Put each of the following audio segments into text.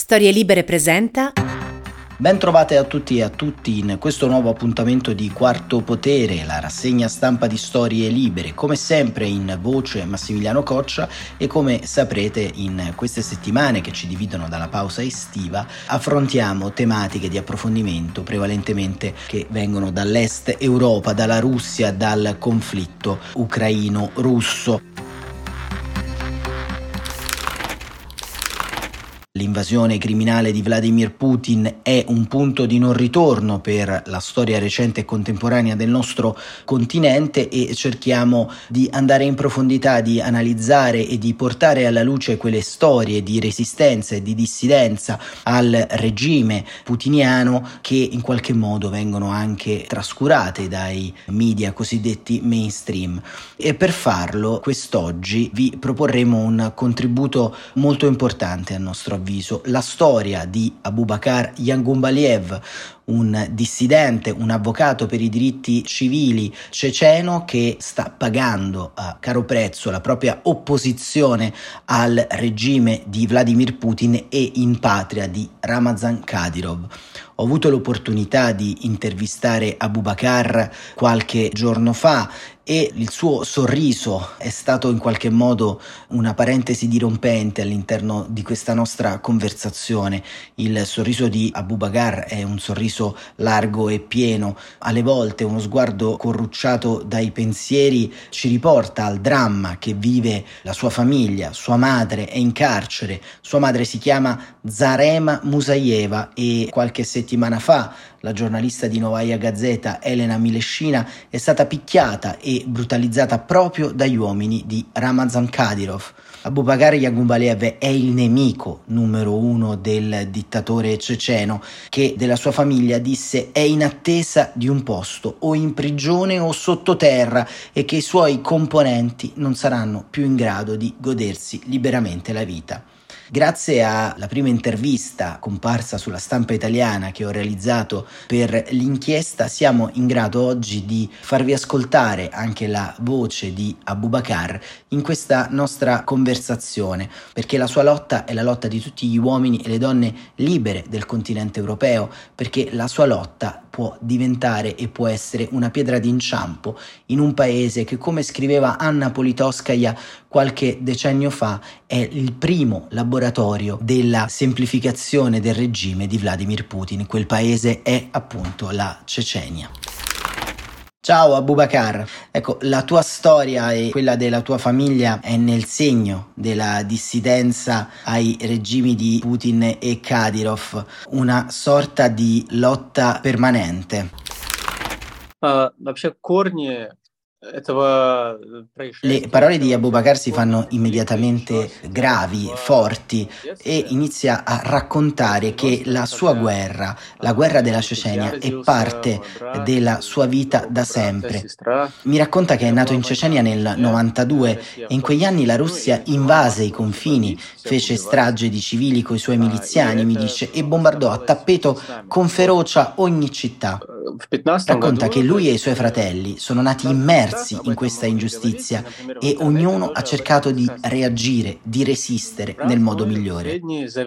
Storie Libere presenta. Ben trovate a tutti e a tutti in questo nuovo appuntamento di Quarto Potere, la rassegna stampa di Storie Libere, come sempre in voce Massimiliano Coccia e come saprete in queste settimane che ci dividono dalla pausa estiva affrontiamo tematiche di approfondimento prevalentemente che vengono dall'est Europa, dalla Russia, dal conflitto ucraino-russo. L'invasione criminale di Vladimir Putin è un punto di non ritorno per la storia recente e contemporanea del nostro continente e cerchiamo di andare in profondità, di analizzare e di portare alla luce quelle storie di resistenza e di dissidenza al regime putiniano che in qualche modo vengono anche trascurate dai media cosiddetti mainstream. E per farlo quest'oggi vi proporremo un contributo molto importante a nostro avviso, la storia di Abubakar Yangumbaliyev, un dissidente, un avvocato per i diritti civili ceceno che sta pagando a caro prezzo la propria opposizione al regime di Vladimir Putin e in patria di Ramzan Kadyrov. Ho avuto l'opportunità di intervistare Abubakar qualche giorno fa e il suo sorriso è stato in qualche modo una parentesi dirompente all'interno di questa nostra conversazione. Il sorriso di Abubakar è un sorriso largo e pieno, alle volte uno sguardo corrucciato dai pensieri ci riporta al dramma che vive la sua famiglia. Sua madre è in carcere, sua madre si chiama Zarema Musayeva e qualche settimana fa la giornalista di Novaya Gazeta Elena Mileshina è stata picchiata e brutalizzata proprio dagli uomini di Ramzan Kadyrov. Abubakar Yangumbaliyev è il nemico numero uno del dittatore ceceno che della sua famiglia disse è in attesa di un posto o in prigione o sottoterra e che i suoi componenti non saranno più in grado di godersi liberamente la vita. Grazie alla prima intervista comparsa sulla stampa italiana che ho realizzato per l'inchiesta siamo in grado oggi di farvi ascoltare anche la voce di Abubakar in questa nostra conversazione, perché la sua lotta è la lotta di tutti gli uomini e le donne libere del continente europeo, perché la sua lotta può diventare e può essere una pietra d'inciampo in un paese che, come scriveva Anna Politkovskaja qualche decennio fa, è il primo laboratorio della semplificazione del regime di Vladimir Putin. Quel paese è appunto la Cecenia. Ciao Abubakar, ecco, la tua storia e quella della tua famiglia è nel segno della dissidenza ai regimi di Putin e Kadyrov, una sorta di lotta permanente. Вообще корни этого происшествия. Le parole di Abubakar si fanno immediatamente gravi, forti e inizia a raccontare che la sua guerra, la guerra della Cecenia, è parte della sua vita da sempre. Mi racconta che è nato in Cecenia nel 92 e in quegli anni la Russia invase i confini, fece strage di civili coi suoi miliziani, mi dice, e bombardò a tappeto con ferocia ogni città. Racconta che lui e i suoi fratelli sono nati immersi in questa ingiustizia e ognuno ha cercato di reagire, di resistere nel modo migliore.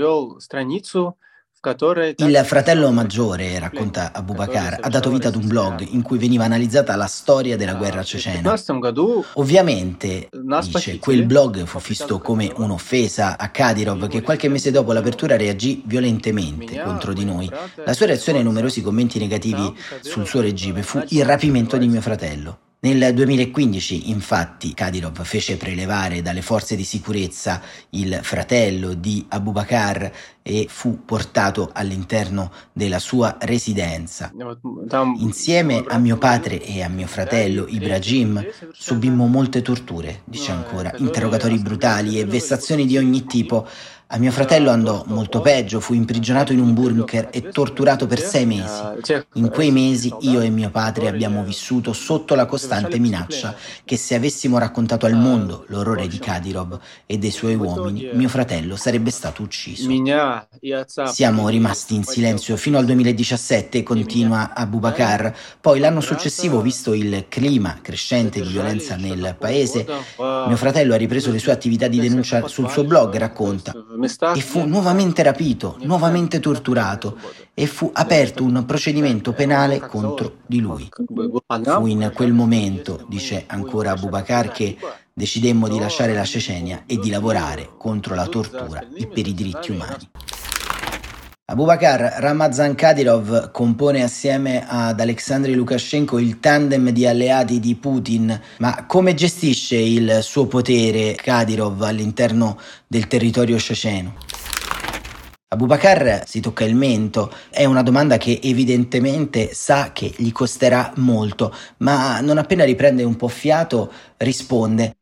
Il fratello maggiore, racconta Abubakar, ha dato vita ad un blog in cui veniva analizzata la storia della guerra cecena. Ovviamente, dice, quel blog fu visto come un'offesa a Kadyrov che qualche mese dopo l'apertura reagì violentemente contro di noi. La sua reazione ai numerosi commenti negativi sul suo regime fu il rapimento di mio fratello. Nel 2015, infatti, Kadyrov fece prelevare dalle forze di sicurezza il fratello di Abubakar e fu portato all'interno della sua residenza. Insieme a mio padre e a mio fratello Ibrahim subimmo molte torture, dice ancora, interrogatori brutali e vessazioni di ogni tipo. A mio fratello andò molto peggio, fu imprigionato in un bunker e torturato per 6 mesi. In quei mesi io e mio padre abbiamo vissuto sotto la costante minaccia che se avessimo raccontato al mondo l'orrore di Kadyrov e dei suoi uomini, mio fratello sarebbe stato ucciso. Siamo rimasti in silenzio fino al 2017, continua Abubakar. Poi l'anno successivo, visto il clima crescente di violenza nel paese, mio fratello ha ripreso le sue attività di denuncia sul suo blog, racconta. e fu nuovamente rapito, nuovamente torturato e fu aperto un procedimento penale contro di lui. Fu in quel momento, dice ancora Abu Bakr, che decidemmo di lasciare la Cecenia e di lavorare contro la tortura e per i diritti umani. Abu Bakr Ramazan Kadyrov compone assieme ad Alexandr Lukashenko il tandem di alleati di Putin, ma come gestisce il suo potere Kadyrov all'interno del territorio ceceno? Abu Bakr si tocca il mento, è una domanda che evidentemente sa che gli costerà molto, ma non appena riprende un po' fiato risponde.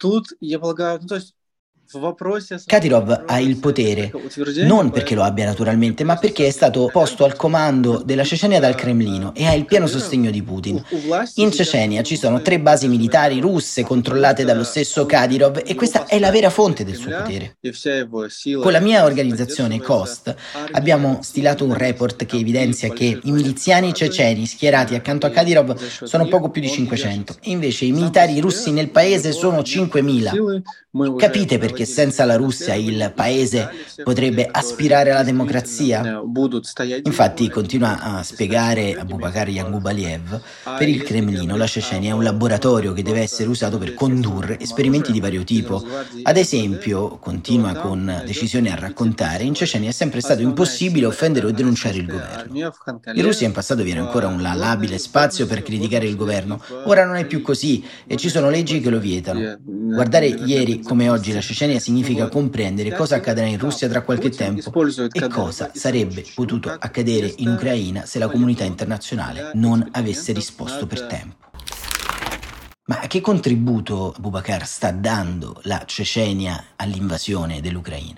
Kadyrov ha il potere, non perché lo abbia naturalmente, ma perché è stato posto al comando della Cecenia dal Cremlino e ha il pieno sostegno di Putin. In Cecenia ci sono 3 basi militari russe controllate dallo stesso Kadyrov e questa è la vera fonte del suo potere. Con la mia organizzazione COST abbiamo stilato un report che evidenzia che i miliziani ceceni schierati accanto a Kadyrov sono poco più di 500 e invece i militari russi nel paese sono 5.000. Capite perché senza la Russia il paese potrebbe aspirare alla democrazia? Infatti, continua a spiegare Abu Bakr Yangubaliev, per il Cremlino la Cecenia è un laboratorio che deve essere usato per condurre esperimenti di vario tipo. Ad esempio, continua con decisione a raccontare, in Cecenia è sempre stato impossibile offendere o denunciare il governo. In Russia in passato vi era ancora un labile spazio per criticare il governo, ora non è più così e ci sono leggi che lo vietano. Guardare ieri come oggi la Cecenia significa comprendere cosa accadrà in Russia tra qualche tempo e cosa sarebbe potuto accadere in Ucraina se la comunità internazionale non avesse risposto per tempo. Ma che contributo Abu Bakr sta dando la Cecenia all'invasione dell'Ucraina?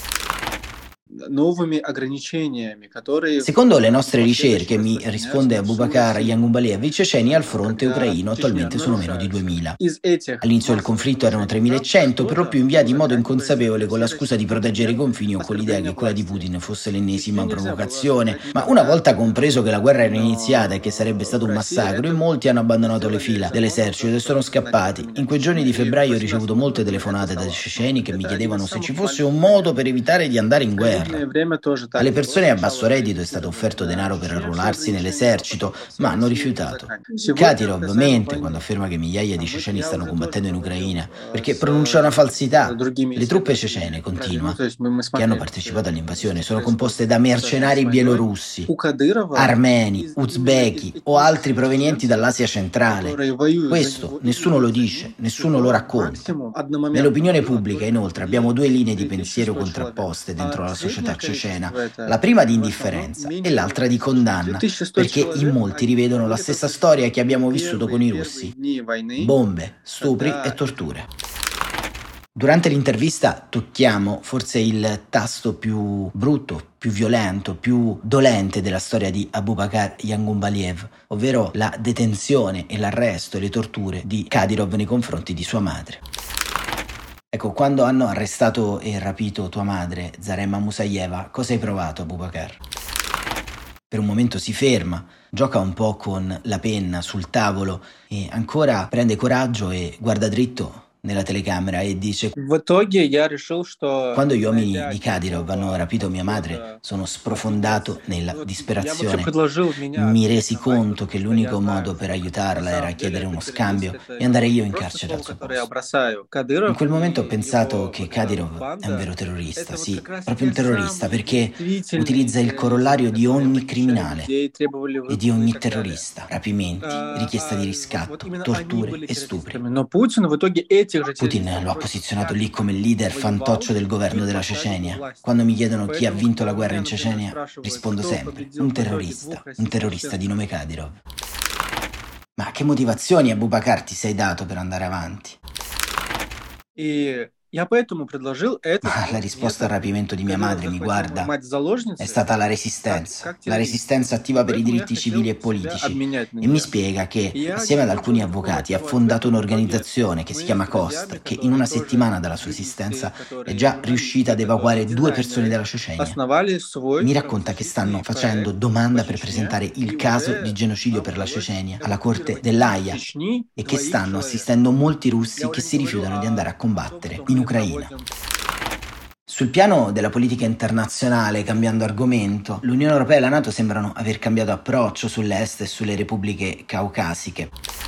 Secondo le nostre ricerche, mi risponde Abu Bakr Yangubaliev, i ceceni al fronte ucraino attualmente sono meno di 2000. All'inizio del conflitto erano 3100, per lo più inviati in modo inconsapevole con la scusa di proteggere i confini o con l'idea che quella di Putin fosse l'ennesima provocazione. Ma una volta compreso che la guerra era iniziata e che sarebbe stato un massacro, in molti hanno abbandonato le fila dell'esercito e sono scappati. In quei giorni di febbraio ho ricevuto molte telefonate dai ceceni che mi chiedevano se ci fosse un modo per evitare di andare in guerra. Alle persone a basso reddito è stato offerto denaro per arruolarsi nell'esercito, ma hanno rifiutato. Kadyrov mente quando afferma che migliaia di ceceni stanno combattendo in Ucraina, perché pronuncia una falsità. Le truppe cecene, continua, che hanno partecipato all'invasione sono composte da mercenari bielorussi, armeni, uzbeki o altri provenienti dall'Asia centrale. Questo nessuno lo dice, nessuno lo racconta. Nell'opinione pubblica, inoltre, abbiamo 2 linee di pensiero contrapposte dentro la società cecena, la prima di indifferenza e l'altra di condanna, perché in molti rivedono la stessa storia che abbiamo vissuto con i russi: bombe, stupri e torture. Durante l'intervista tocchiamo forse il tasto più brutto, più violento, più dolente della storia di Abu Bakr Yangubaliev, ovvero la detenzione e l'arresto e le torture di Kadyrov nei confronti di sua madre. Ecco, quando hanno arrestato e rapito tua madre, Zarema Musayeva, cosa hai provato, Abu Bakr? Per un momento si ferma, gioca un po' con la penna sul tavolo e ancora prende coraggio e guarda dritto nella telecamera e dice: quando gli uomini di Kadyrov hanno rapito mia madre, sono sprofondato nella disperazione. Mi resi conto che l'unico modo per aiutarla era chiedere uno scambio e andare io in carcere al suo posto. In quel momento ho pensato che Kadyrov è un vero terrorista, sì, proprio un terrorista, perché utilizza il corollario di ogni criminale e di ogni terrorista: rapimenti, richiesta di riscatto, torture e stupri. Putin lo ha posizionato lì come il leader fantoccio del governo della Cecenia. Quando mi chiedono chi ha vinto la guerra in Cecenia, rispondo sempre: un terrorista di nome Kadyrov. Ma che motivazioni, Abu Bakr, ti sei dato per andare avanti? La risposta al rapimento di mia madre, mi guarda, è stata la resistenza attiva per i diritti civili e politici, e mi spiega che assieme ad alcuni avvocati ha fondato un'organizzazione che si chiama COST, che in una settimana dalla sua esistenza è già riuscita ad evacuare 2 persone dalla Cecenia. Mi racconta che stanno facendo domanda per presentare il caso di genocidio per la Cecenia alla corte dell'Aia e che stanno assistendo molti russi che si rifiutano di andare a combattere in Ucraina. Sul piano della politica internazionale, cambiando argomento, l'Unione Europea e la NATO sembrano aver cambiato approccio sull'est e sulle repubbliche caucasiche.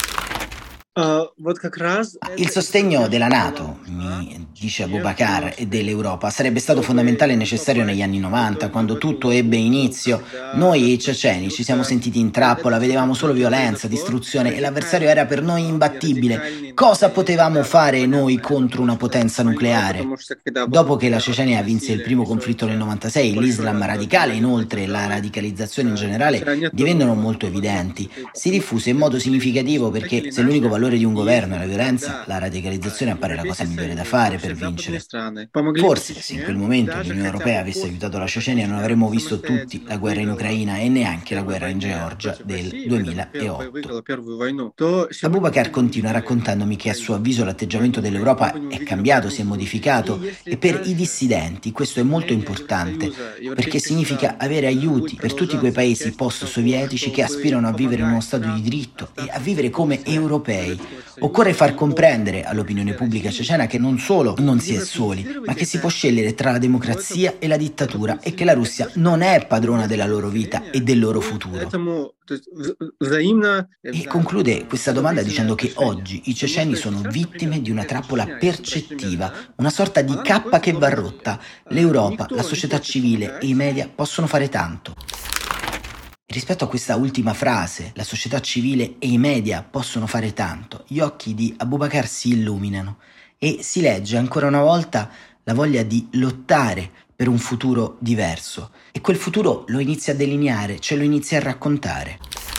Il sostegno della NATO, mi dice Abubakar, e dell'Europa sarebbe stato fondamentale e necessario negli anni 90, quando tutto ebbe inizio. Noi ceceni ci siamo sentiti in trappola, vedevamo solo violenza, distruzione e l'avversario era per noi imbattibile. Cosa potevamo fare noi contro una potenza nucleare? Dopo che la Cecenia vinse il primo conflitto nel 96, l'Islam radicale, inoltre la radicalizzazione in generale, divennero molto evidenti. Si diffuse in modo significativo perché se l'unico valore di un governo è la violenza, la radicalizzazione appare la cosa migliore da fare per vincere. Forse, se in quel momento l'Unione Europea avesse aiutato la Cecenia, non avremmo visto tutti la guerra in Ucraina e neanche la guerra in Georgia del 2008. Abubakar continua raccontandomi che a suo avviso l'atteggiamento dell'Europa è cambiato, si è modificato e per i dissidenti questo è molto importante perché significa avere aiuti per tutti quei paesi post-sovietici che aspirano a vivere in uno Stato di diritto e a vivere come europei. Occorre far comprendere all'opinione pubblica cecena che non solo non si è soli, ma che si può scegliere tra la democrazia e la dittatura e che la Russia non è padrona della loro vita e del loro futuro. E conclude questa domanda dicendo che oggi i ceceni sono vittime di una trappola percettiva, una sorta di cappa che va rotta. L'Europa, la società civile e i media possono fare tanto. Rispetto a questa ultima frase, la società civile e i media possono fare tanto, gli occhi di Abubakar si illuminano e si legge ancora una volta la voglia di lottare per un futuro diverso e quel futuro lo inizia a delineare, ce lo inizia a raccontare.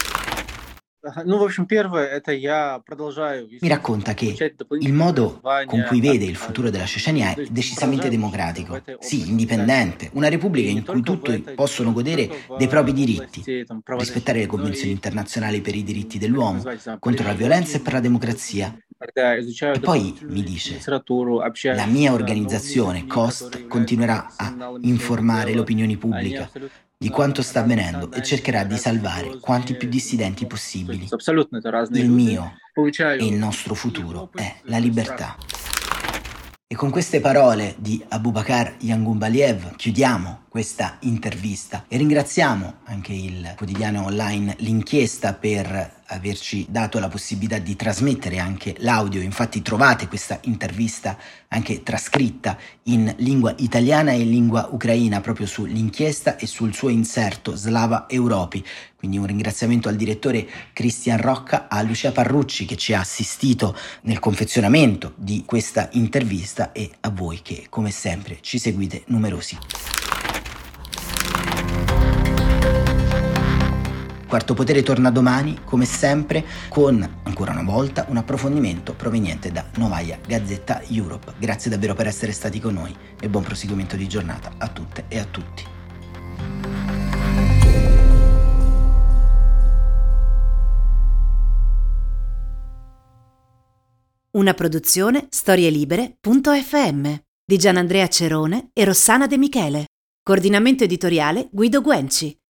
Mi racconta che il modo con cui vede il futuro della Cecenia è decisamente democratico, sì, indipendente, una repubblica in cui tutti possono godere dei propri diritti, rispettare le convenzioni internazionali per i diritti dell'uomo, contro la violenza e per la democrazia. E poi mi dice, la mia organizzazione, COST, continuerà a informare l'opinione pubblica di quanto sta avvenendo e cercherà di salvare quanti più dissidenti possibili. Il mio e il nostro futuro è la libertà. E con queste parole di Abubakar Yangunbaliev chiudiamo questa intervista e ringraziamo anche il quotidiano online L'Inchiesta per averci dato la possibilità di trasmettere anche l'audio. Infatti trovate questa intervista anche trascritta in lingua italiana e in lingua ucraina proprio su L'Inchiesta e sul suo inserto Slava Europi. Quindi un ringraziamento al direttore Cristian Rocca, a Lucia Parrucci che ci ha assistito nel confezionamento di questa intervista e a voi che come sempre ci seguite numerosi. Quarto Potere torna domani, come sempre, con, ancora una volta, un approfondimento proveniente da Novaya Gazeta Europe. Grazie davvero per essere stati con noi e buon proseguimento di giornata a tutte e a tutti. Una produzione storielibere.fm di Gianandrea Cerone e Rossana De Michele. Coordinamento editoriale Guido Guenci.